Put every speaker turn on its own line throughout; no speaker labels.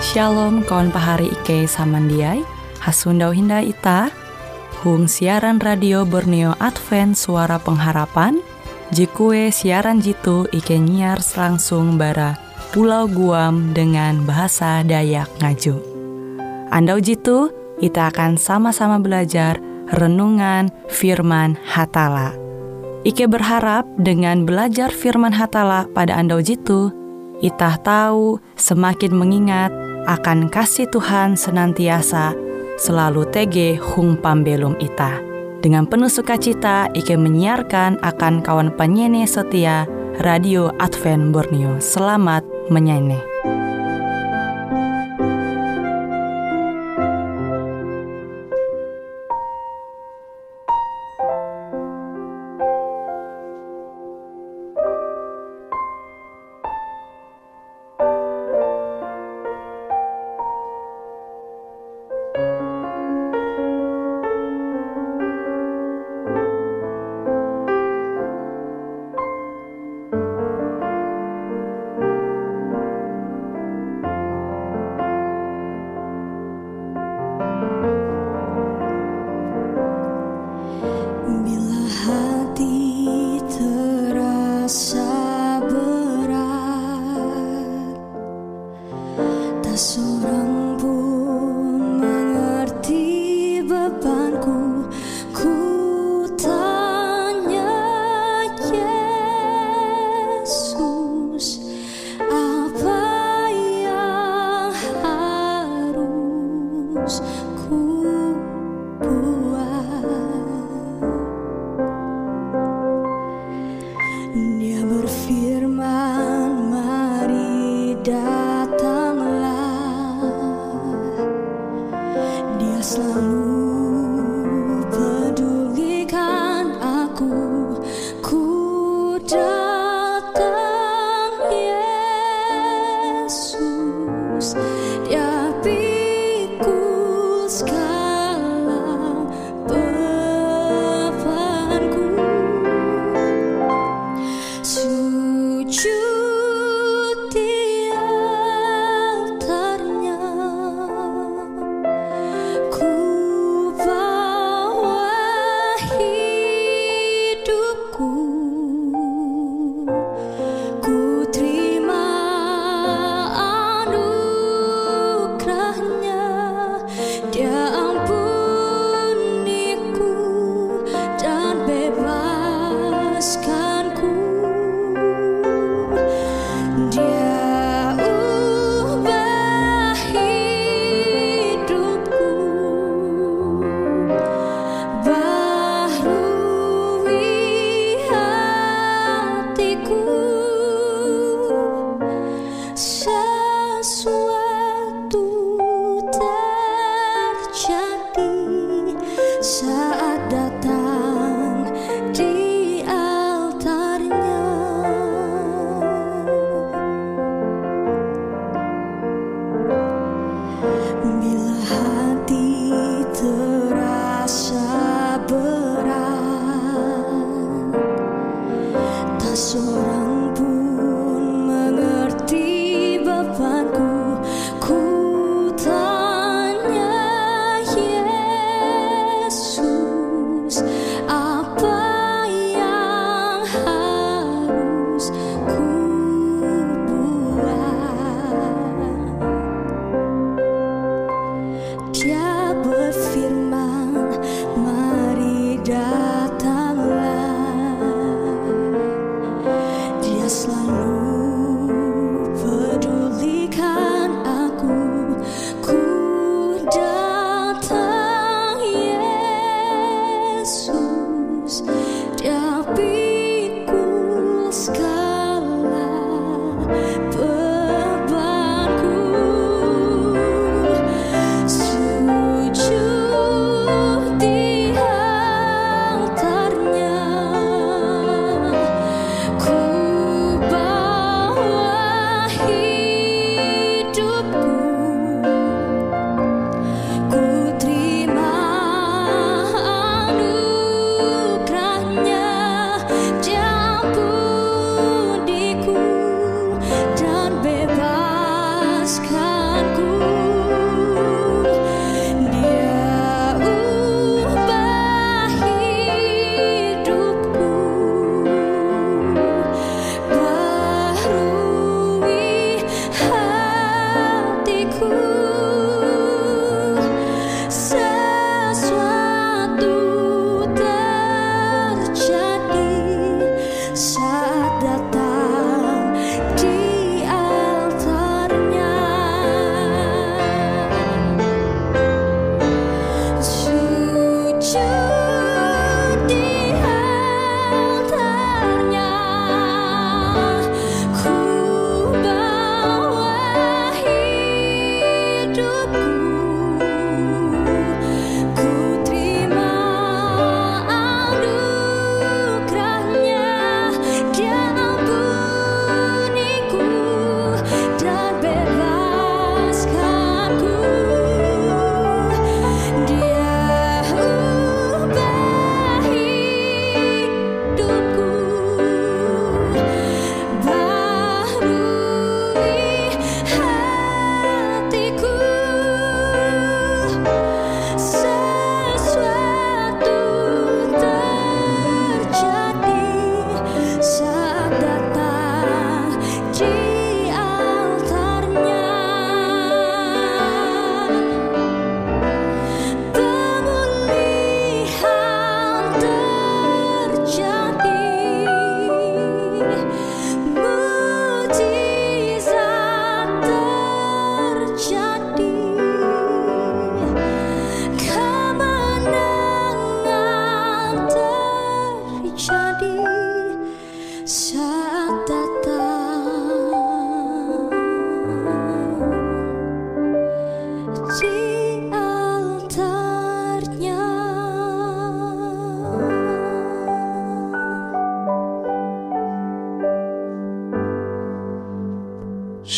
Shalom kawan pahari Ike samandiai, hasundau hinda ita, hung siaran radio Borneo Advent Suara Pengharapan, jikue siaran jitu Ike nyiar langsung bara Pulau Guam dengan bahasa Dayak Ngaju. Andau jitu, kita akan sama-sama belajar renungan firman Hatala. Ike berharap dengan belajar firman Hatala pada andau jitu, itah tahu semakin mengingat akan kasih Tuhan senantiasa selalu tege hung pambelum itah. Dengan penuh sukacita Ike menyiarkan akan kawan penyanyi setia Radio Advent Borneo. Selamat menyanyi.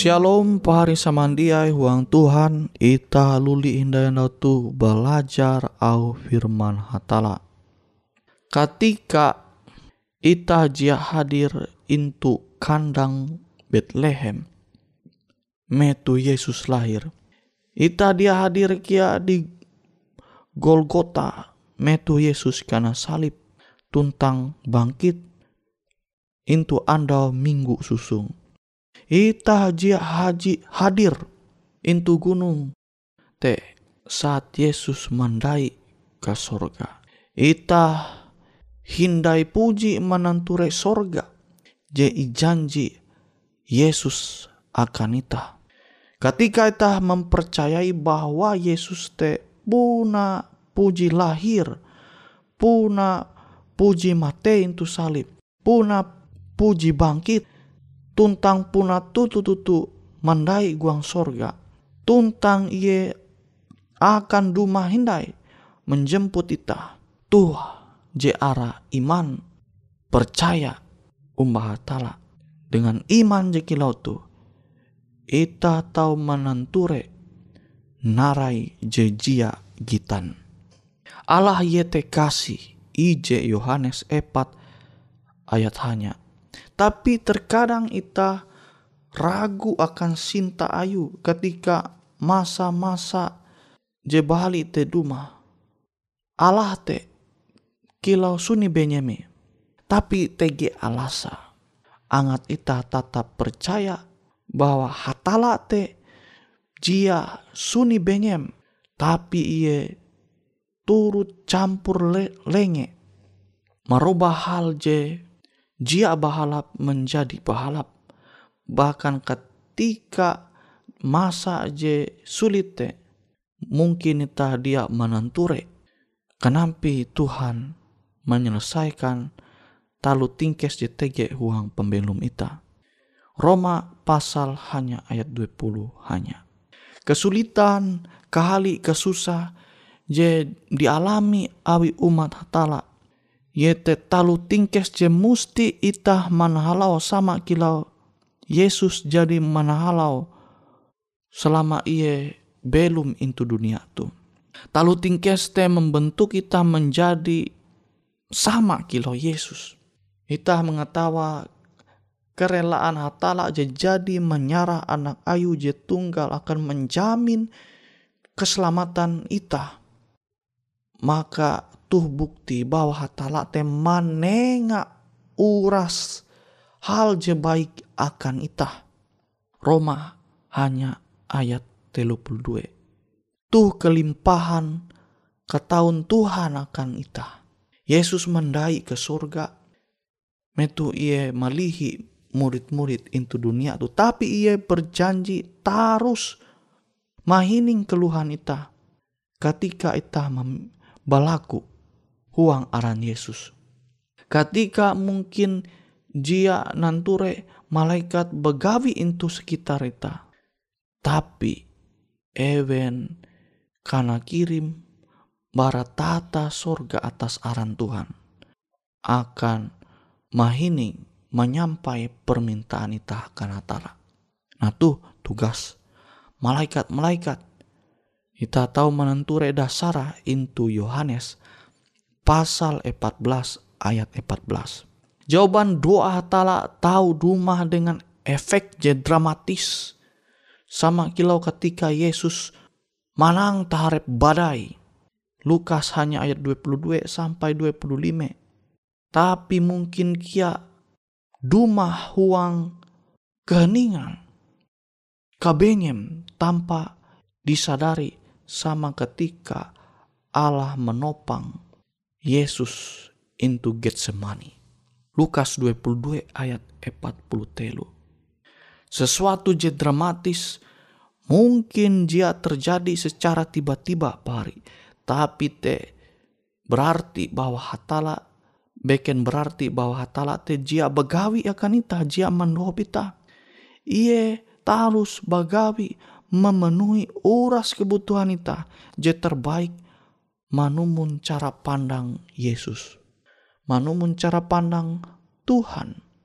Shalom pahari samandiai huang Tuhan, ita luli indah tu belajar au firman hatala. Ketika ita jia hadir into kandang Bethlehem, metu Yesus lahir. Ita dia hadir kia di Golgota, metu Yesus karena salib, tuntang bangkit into andau minggu susung. Ita jia hadir into gunung te saat Yesus mandai ke sorga. Ita hindai puji menanture sorga je janji Yesus akan ita. Ketika ita mempercayai bahwa Yesus te puna puji lahir, puna puji mate into salib, puna puji bangkit, tuntang puna tutu mandai guang sorga, tuntang ie akan duma hindai menjemput ita. Tuh je ara iman percaya umbah hatala. Dengan iman je kilau tu ita tau menanture narai je jia gitan. Allah yete kasih ije Yohanes 4 ayat hanya. Tapi terkadang ita ragu akan sinta ayu ketika masa-masa je bali te duma. Allah te kilau suni benyeme. Tapi tege alasa. Angat ita tetap percaya bahwa hatala te jia suni benyem. Tapi ie turut campur lenge. Merubah hal je jia bahalap menjadi bahalap. Bahkan ketika masa je sulit te, mungkin ita dia menanture. Kenampi Tuhan menyelesaikan talu tingkes je tege huang pembelum ita. Roma pasal hanya ayat 20 hanya. Kesulitan, kahali, kesusah je dialami awi umat hatala. Yete talu tingkes je musti ita manahalau sama kilau Yesus jadi manahalau selama ie belum into dunia tu. Talu tingkes te membentuk kita menjadi sama kilau Yesus. Ita mengetawa kerelaan hatala je jadi menyarah anak ayu je tunggal akan menjamin keselamatan ita. Maka tuh bukti bahwa hatala te manenga uras hal je baik akan ita. Roma hanya ayat 32. Tuh kelimpahan ketahuan Tuhan akan ita. Yesus mendai ke surga. Metu ie malihi murid-murid into dunia tu. Tapi ie berjanji tarus mahining keluhan ita. Ketika ita balaku huang aran Yesus. Ketika mungkin jia nanture malaikat begawi into sekitar ita. Tapi ewen kana kirim baratata sorga atas aran Tuhan. Akan mahining menyampai permintaan ita akan hatala. Nah tuh tugas malaikat-malaikat. Ita tahu menenture dasara into Yohanes pasal 14 ayat 14. Jawaban doa hatala tahu dumah dengan efek je dramatis. Sama kilau ketika Yesus manang taharep badai. Lukas hanya ayat 22 sampai 25. Tapi mungkin kia dumah huang keheningan. Kabenyem tanpa disadari sama ketika Allah menopang Yesus into Getsemani. Lukas 22 ayat 40 telu. Sesuatu je dramatis mungkin dia terjadi secara tiba-tiba pari. Tapi te berarti bahwa hatala beken berarti bahwa hatala te jia begawi akan ita, jia mendohop ita. Ie tarus bagawi memenuhi uras kebutuhan ita je terbaik manumun cara pandang Yesus. Manumun cara pandang Tuhan.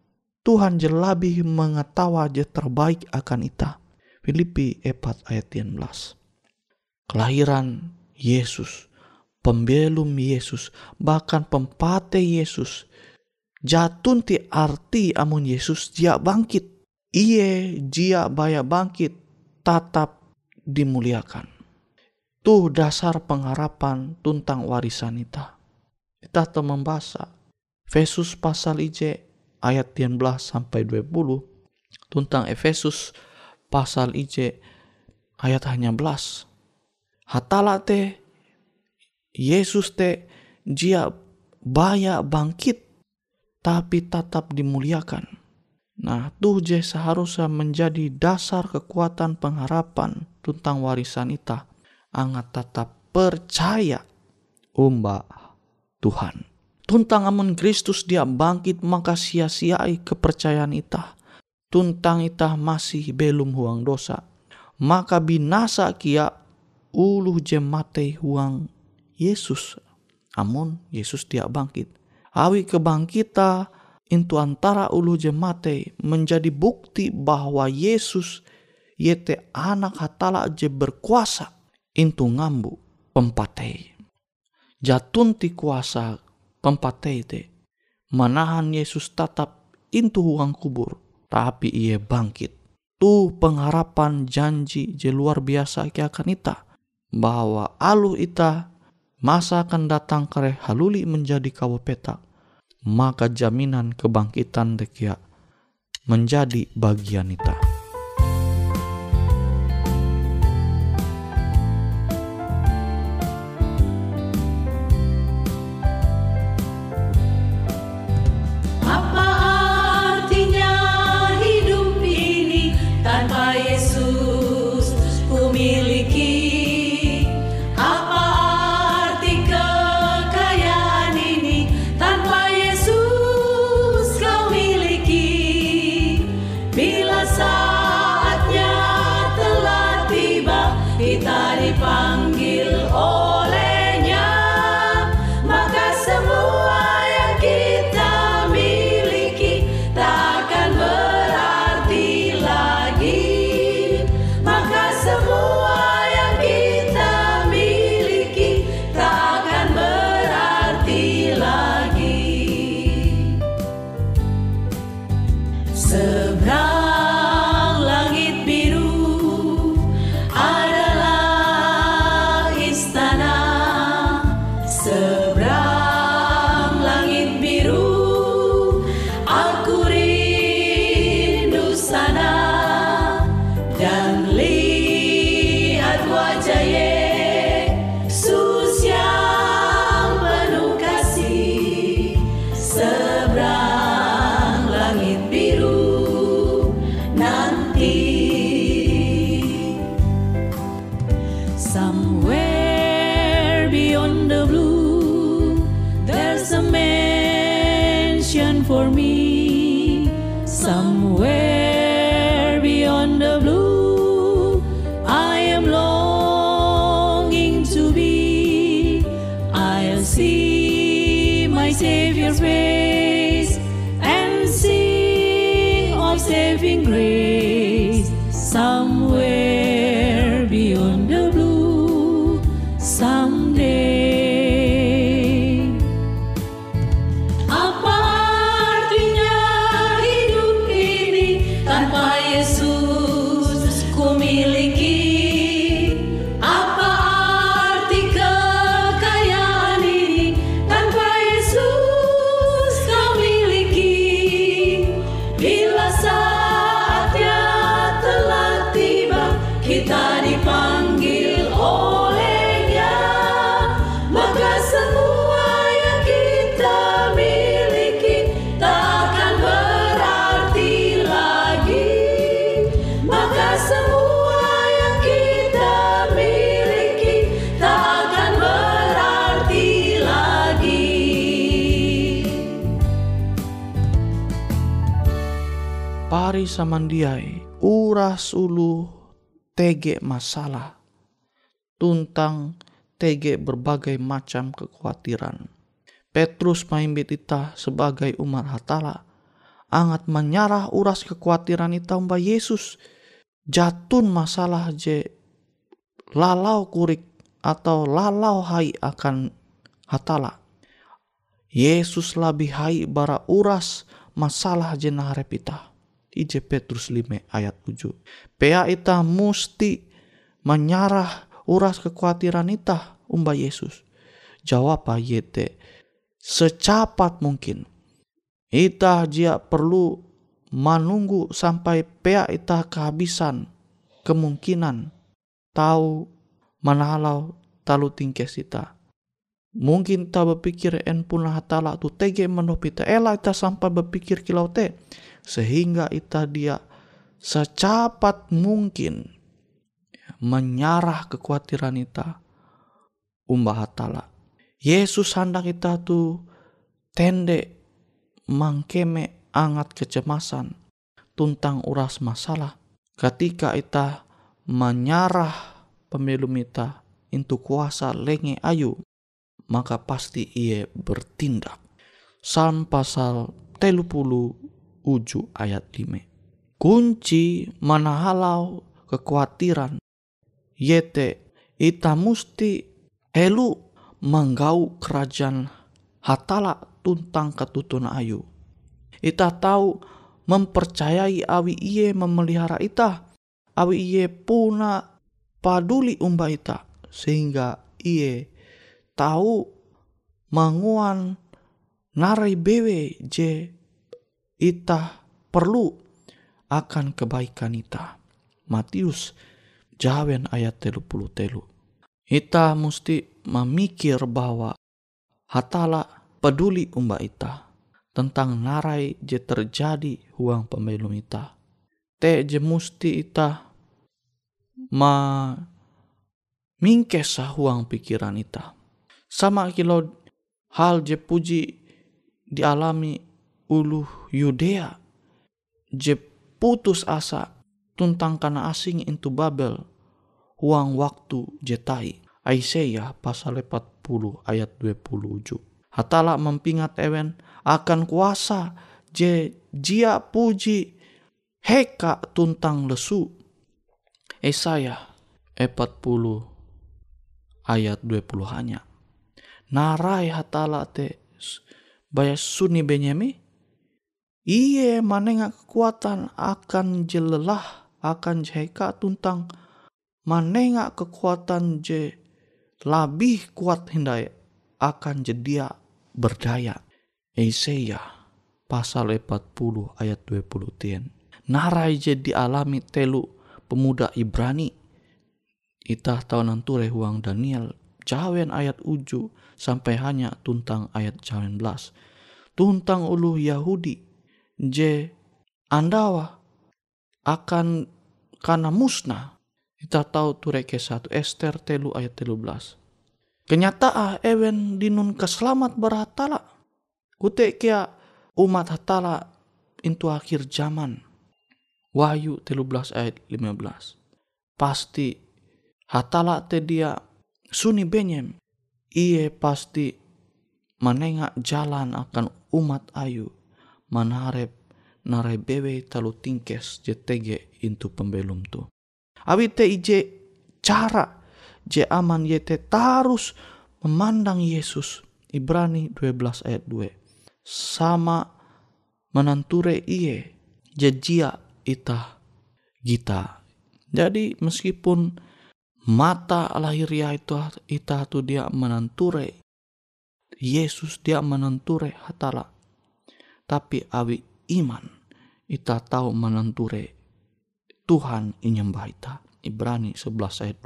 Tuhan je labih mengetawa je terbaik akan ita. Filipi 4 ayat 11. Kelahiran Yesus, pembelum Yesus, bahkan pempate Yesus, jatun ti arti amun Yesus jia bangkit. Iye jia baya bangkit, tatap dimuliakan. Tuh dasar pengharapan tuntang warisan ita. Ita te membaca Efesus pasal IJ ayat 19 sampai 20, tuntang Efesus pasal IJ ayat 11. Hatala te Yesus te jia baya bangkit tapi tetap dimuliakan. Nah, tuh je seharusnya menjadi dasar kekuatan pengharapan tentang warisan ita. Angat tetap percaya umba Tuhan. Tuntang amun Kristus dia bangkit, maka sia-siai kepercayaan ita. Tuntang ita masih belum huang dosa, maka binasa kia uluh je mate huang Yesus. Amun Yesus dia bangkit. Awi kebangkita itu antara ulu je mate menjadi bukti bahwa Yesus yete anak hatala je berkuasa itu ngambu pempatei. Jatun ti kuasa pempatei te manahan Yesus tetap itu huang kubur, tapi ia bangkit. Tu pengharapan janji je luar biasa ki akan ita, bahwa alu ita masa akan datang kare haluli menjadi kawa petak, maka jaminan kebangkitan dekia menjadi bagian ita.
Somewhere beyond the blue, there's a mansion for me. Somewhere beyond the blue, I am longing to be. I'll see my Savior's face and sing of saving grace. Somewhere beyond the blue, someday. Apa artinya hidup ini tanpa Yesus ku miliki? Apa arti kekayaan ini tanpa Yesus kau miliki? Bila saatnya telah tiba, kita dipanggil olehnya, maka semua yang kita miliki takkan berarti lagi. Maka semua yang kita miliki takkan berarti lagi.
Pari samandiai uras ulu tege masalah, tuntang tege berbagai macam kekhawatiran. Petrus maimbit ita sebagai umat hatala, angat menyarah uras kekhawatiran ita umba Yesus. Jatun masalah je lalau kurik atau lalau hai akan hatala. Yesus lebih hai bara uras masalah je naharep ita. Ije Petrus 5 ayat 7. Pea ita musti menyarah uras kekhawatiran ita umba Yesus. Jawab ayete secepat mungkin. Ita jia perlu menunggu sampai pea ita kehabisan kemungkinan tahu manahalau talu tingkes ita. Mungkin ta berpikir en punah hatala tu tege menop ita. Ela ita sampai berpikir kilau te. Sehingga ita dia secepat mungkin menyarah kekhawatiran ita umba hatala. Yesus hendak ita tu tende mangkeme angat kecemasan tentang uras masalah. Ketika ita menyarah pembelum ita into kuasa lenge ayu, maka pasti ia bertindak. Psalm pasal 37 ayat 5. Kunci manahalau kekhawatiran yete ita musti helu menggau kerajaan hatala tuntang ketutun ayu. Ita tahu mempercayai awi iye memelihara ita, awi iye puna paduli umba ita, sehingga iye tahu manguan narai bewe je ita perlu akan kebaikan ita. Matius jawen ayat 33. Ita mesti memikir bahwa hatala peduli umba ita tentang narai je terjadi huang pembelum ita. Te je musti ita mingkesa huang pikiran ita. Sama kilo hal je puji dialami uluh Yudea je putus asa tentang kana asing into Babel huang waktu je tai. Aisyah pasal 40 ayat 27. Hatala mempingat ewen akan kuasa je jia puji heka tuntang lesu. Yesaya 40 ayat 20 hanya. Narai hatala te baya suni benyemi. Iye manenga kekuatan akan jelelah akan jeka tuntang manenga kekuatan je lebih kuat hindai akan jedia berdaya. Yesaya pasal 40 ayat 20 tien. Narai je dialami telu pemuda Ibrani. Itah tahu nanture huang Daniel jawen ayat 7 sampai hanya tuntang ayat 19. Tuntang ulu Yahudi je andawa akan kana musnah. Kita tahu tureke 1 Ester 3 ayat 13. Kenyataan ewen dinun keselamat berhatala. Kute kia umat hatala into akhir zaman. Wahyu 13 ayat 15. Pasti hatala te dia suni benyem. Iye pasti menengak jalan akan umat ayu. Manarep narai bewe talu tingkes jetege into pembelum tu. Abi te ije cara je aman yete tarus memandang Yesus. Ibrani 12 ayat 2. Sama menanture iye jejia ita gita. Jadi meskipun mata lahiriah itu ita tu dia menanture Yesus, dia menanture hatala. Tapi awi iman ita tahu menanture Tuhan inyembah ita. Ibrani 11 ayat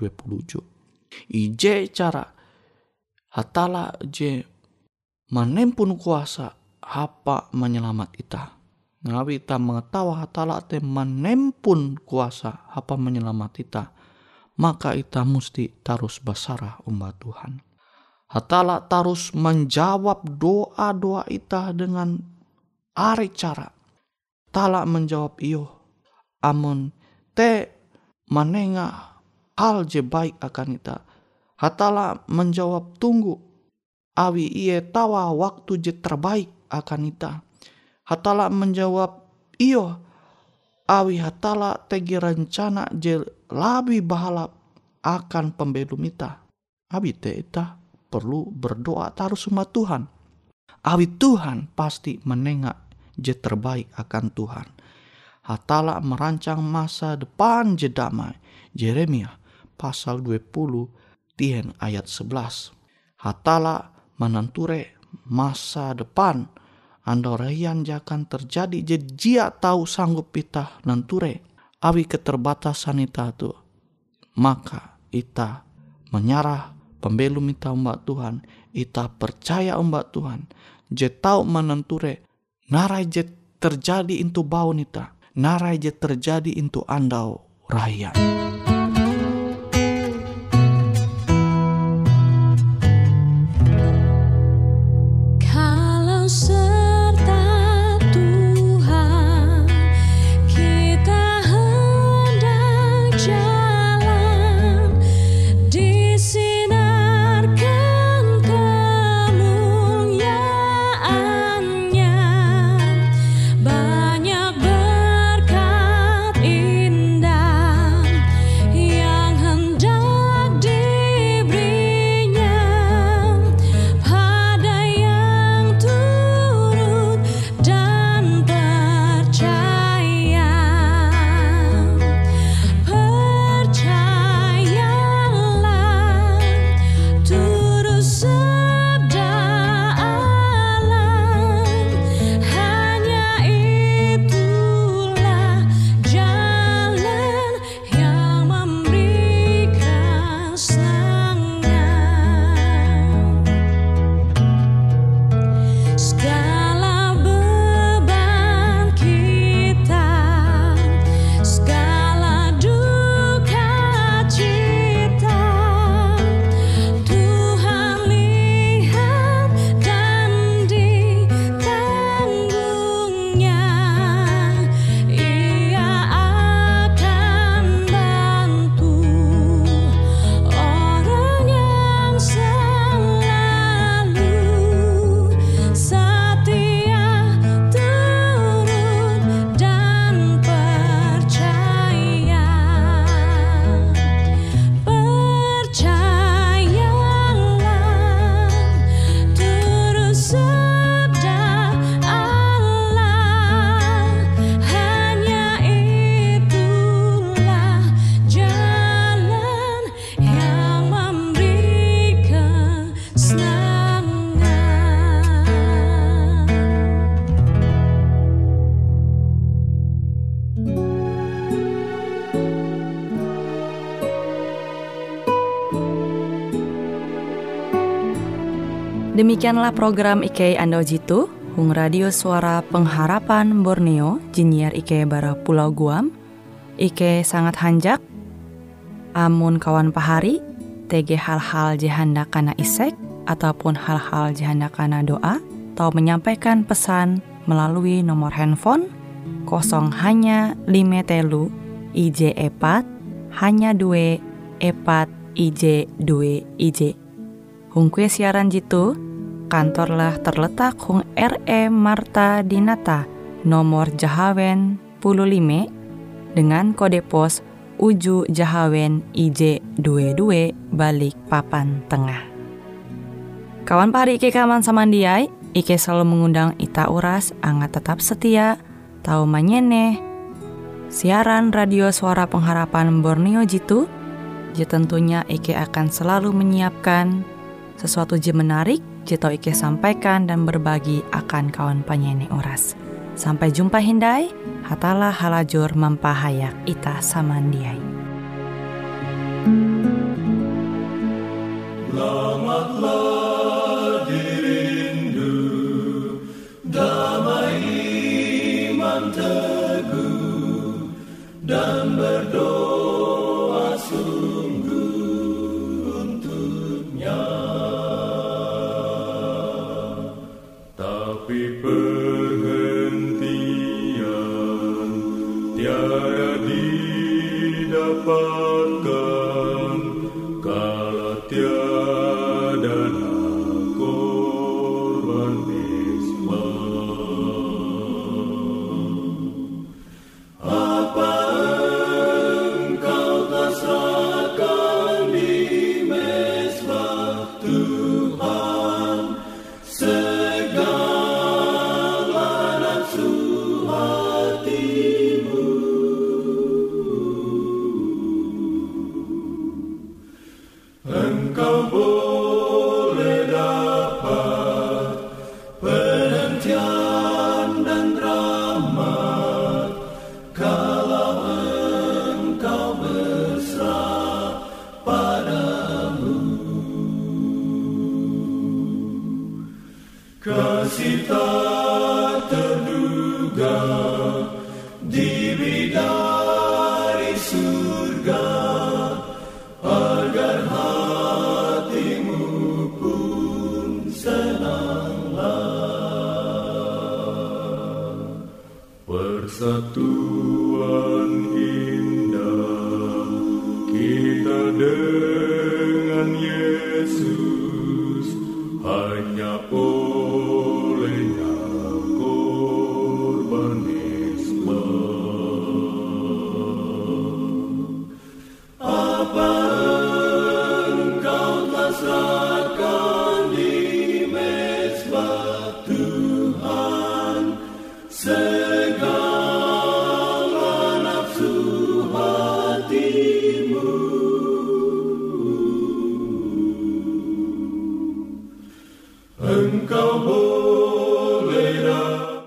27. Ije cara hatala je menempun kuasa apa menyelamat ita. Ngawi ita mengetawa hatala te menempun kuasa apa menyelamat ita. Maka ita musti tarus basarah umba Tuhan. Hatala tarus menjawab doa-doa ita dengan are cara. Hatala menjawab iyo. Amun te manenga hal je baik akan ita. Hatala menjawab tunggu. Awi iye tawa waktu je terbaik akan ita. Hatala menjawab, iyo, awi hatala tegi rencana je labi bahalap akan pembelum ita. Abi te ita perlu berdoa taruh sama Tuhan. Awi Tuhan pasti menengak je terbaik akan Tuhan. Hatala merancang masa depan je damai. Yeremia pasal 20 tien ayat 11. Hatala menenture masa depan andoraian jakan terjadi je jia tahu sanggup ita nenture awi keterbatasan ita tu. Maka ita menyarah pembelum ita umbak Tuhan. Ita percaya umbak Tuhan. Je tahu menenture narai je terjadi into baun ita. Narai je terjadi into andau raya.
Demikianlah program IK Ando Jitu, Hung Radio Suara Pengharapan Borneo, Jinnyar IK Bara Pulau Guam. IK sangat hanjak, amun kawan pahari, TG hal-hal jihanda kana isek, ataupun hal-hal jihanda kana doa, atau menyampaikan pesan melalui nomor handphone 0 hanya 5 telu IJ epat hanya 2 epat IJ 2 IJ. Hung kue siaran jitu, kantorlah terletak Hung RE Marta Dinata, nomor Jahawen 15 dengan kode pos Uju Jahawen IJ 22 balik Papan Tengah. Kawan pahari Ike kaman samandiai, Ike selalu mengundang ita uras angga tetap setia, tahu manyeneh siaran radio Suara Pengharapan Borneo jitu. Je tentunya Ike akan selalu menyiapkan sesuatu je menarik, je tau Ike sampaikan dan berbagi akan kawan penyanyi oras. Sampai jumpa hindai, hatalah halajur mampahayak ita samandiai.
Selamatlah dirindu, damai iman teguh, dan berdoa sungguh untuknya. Tapi perhentian tiada didapatkan kalau tiada korban isman. surga, di bidari surga, agar hatimu pun senanglah. Persatuan indah kita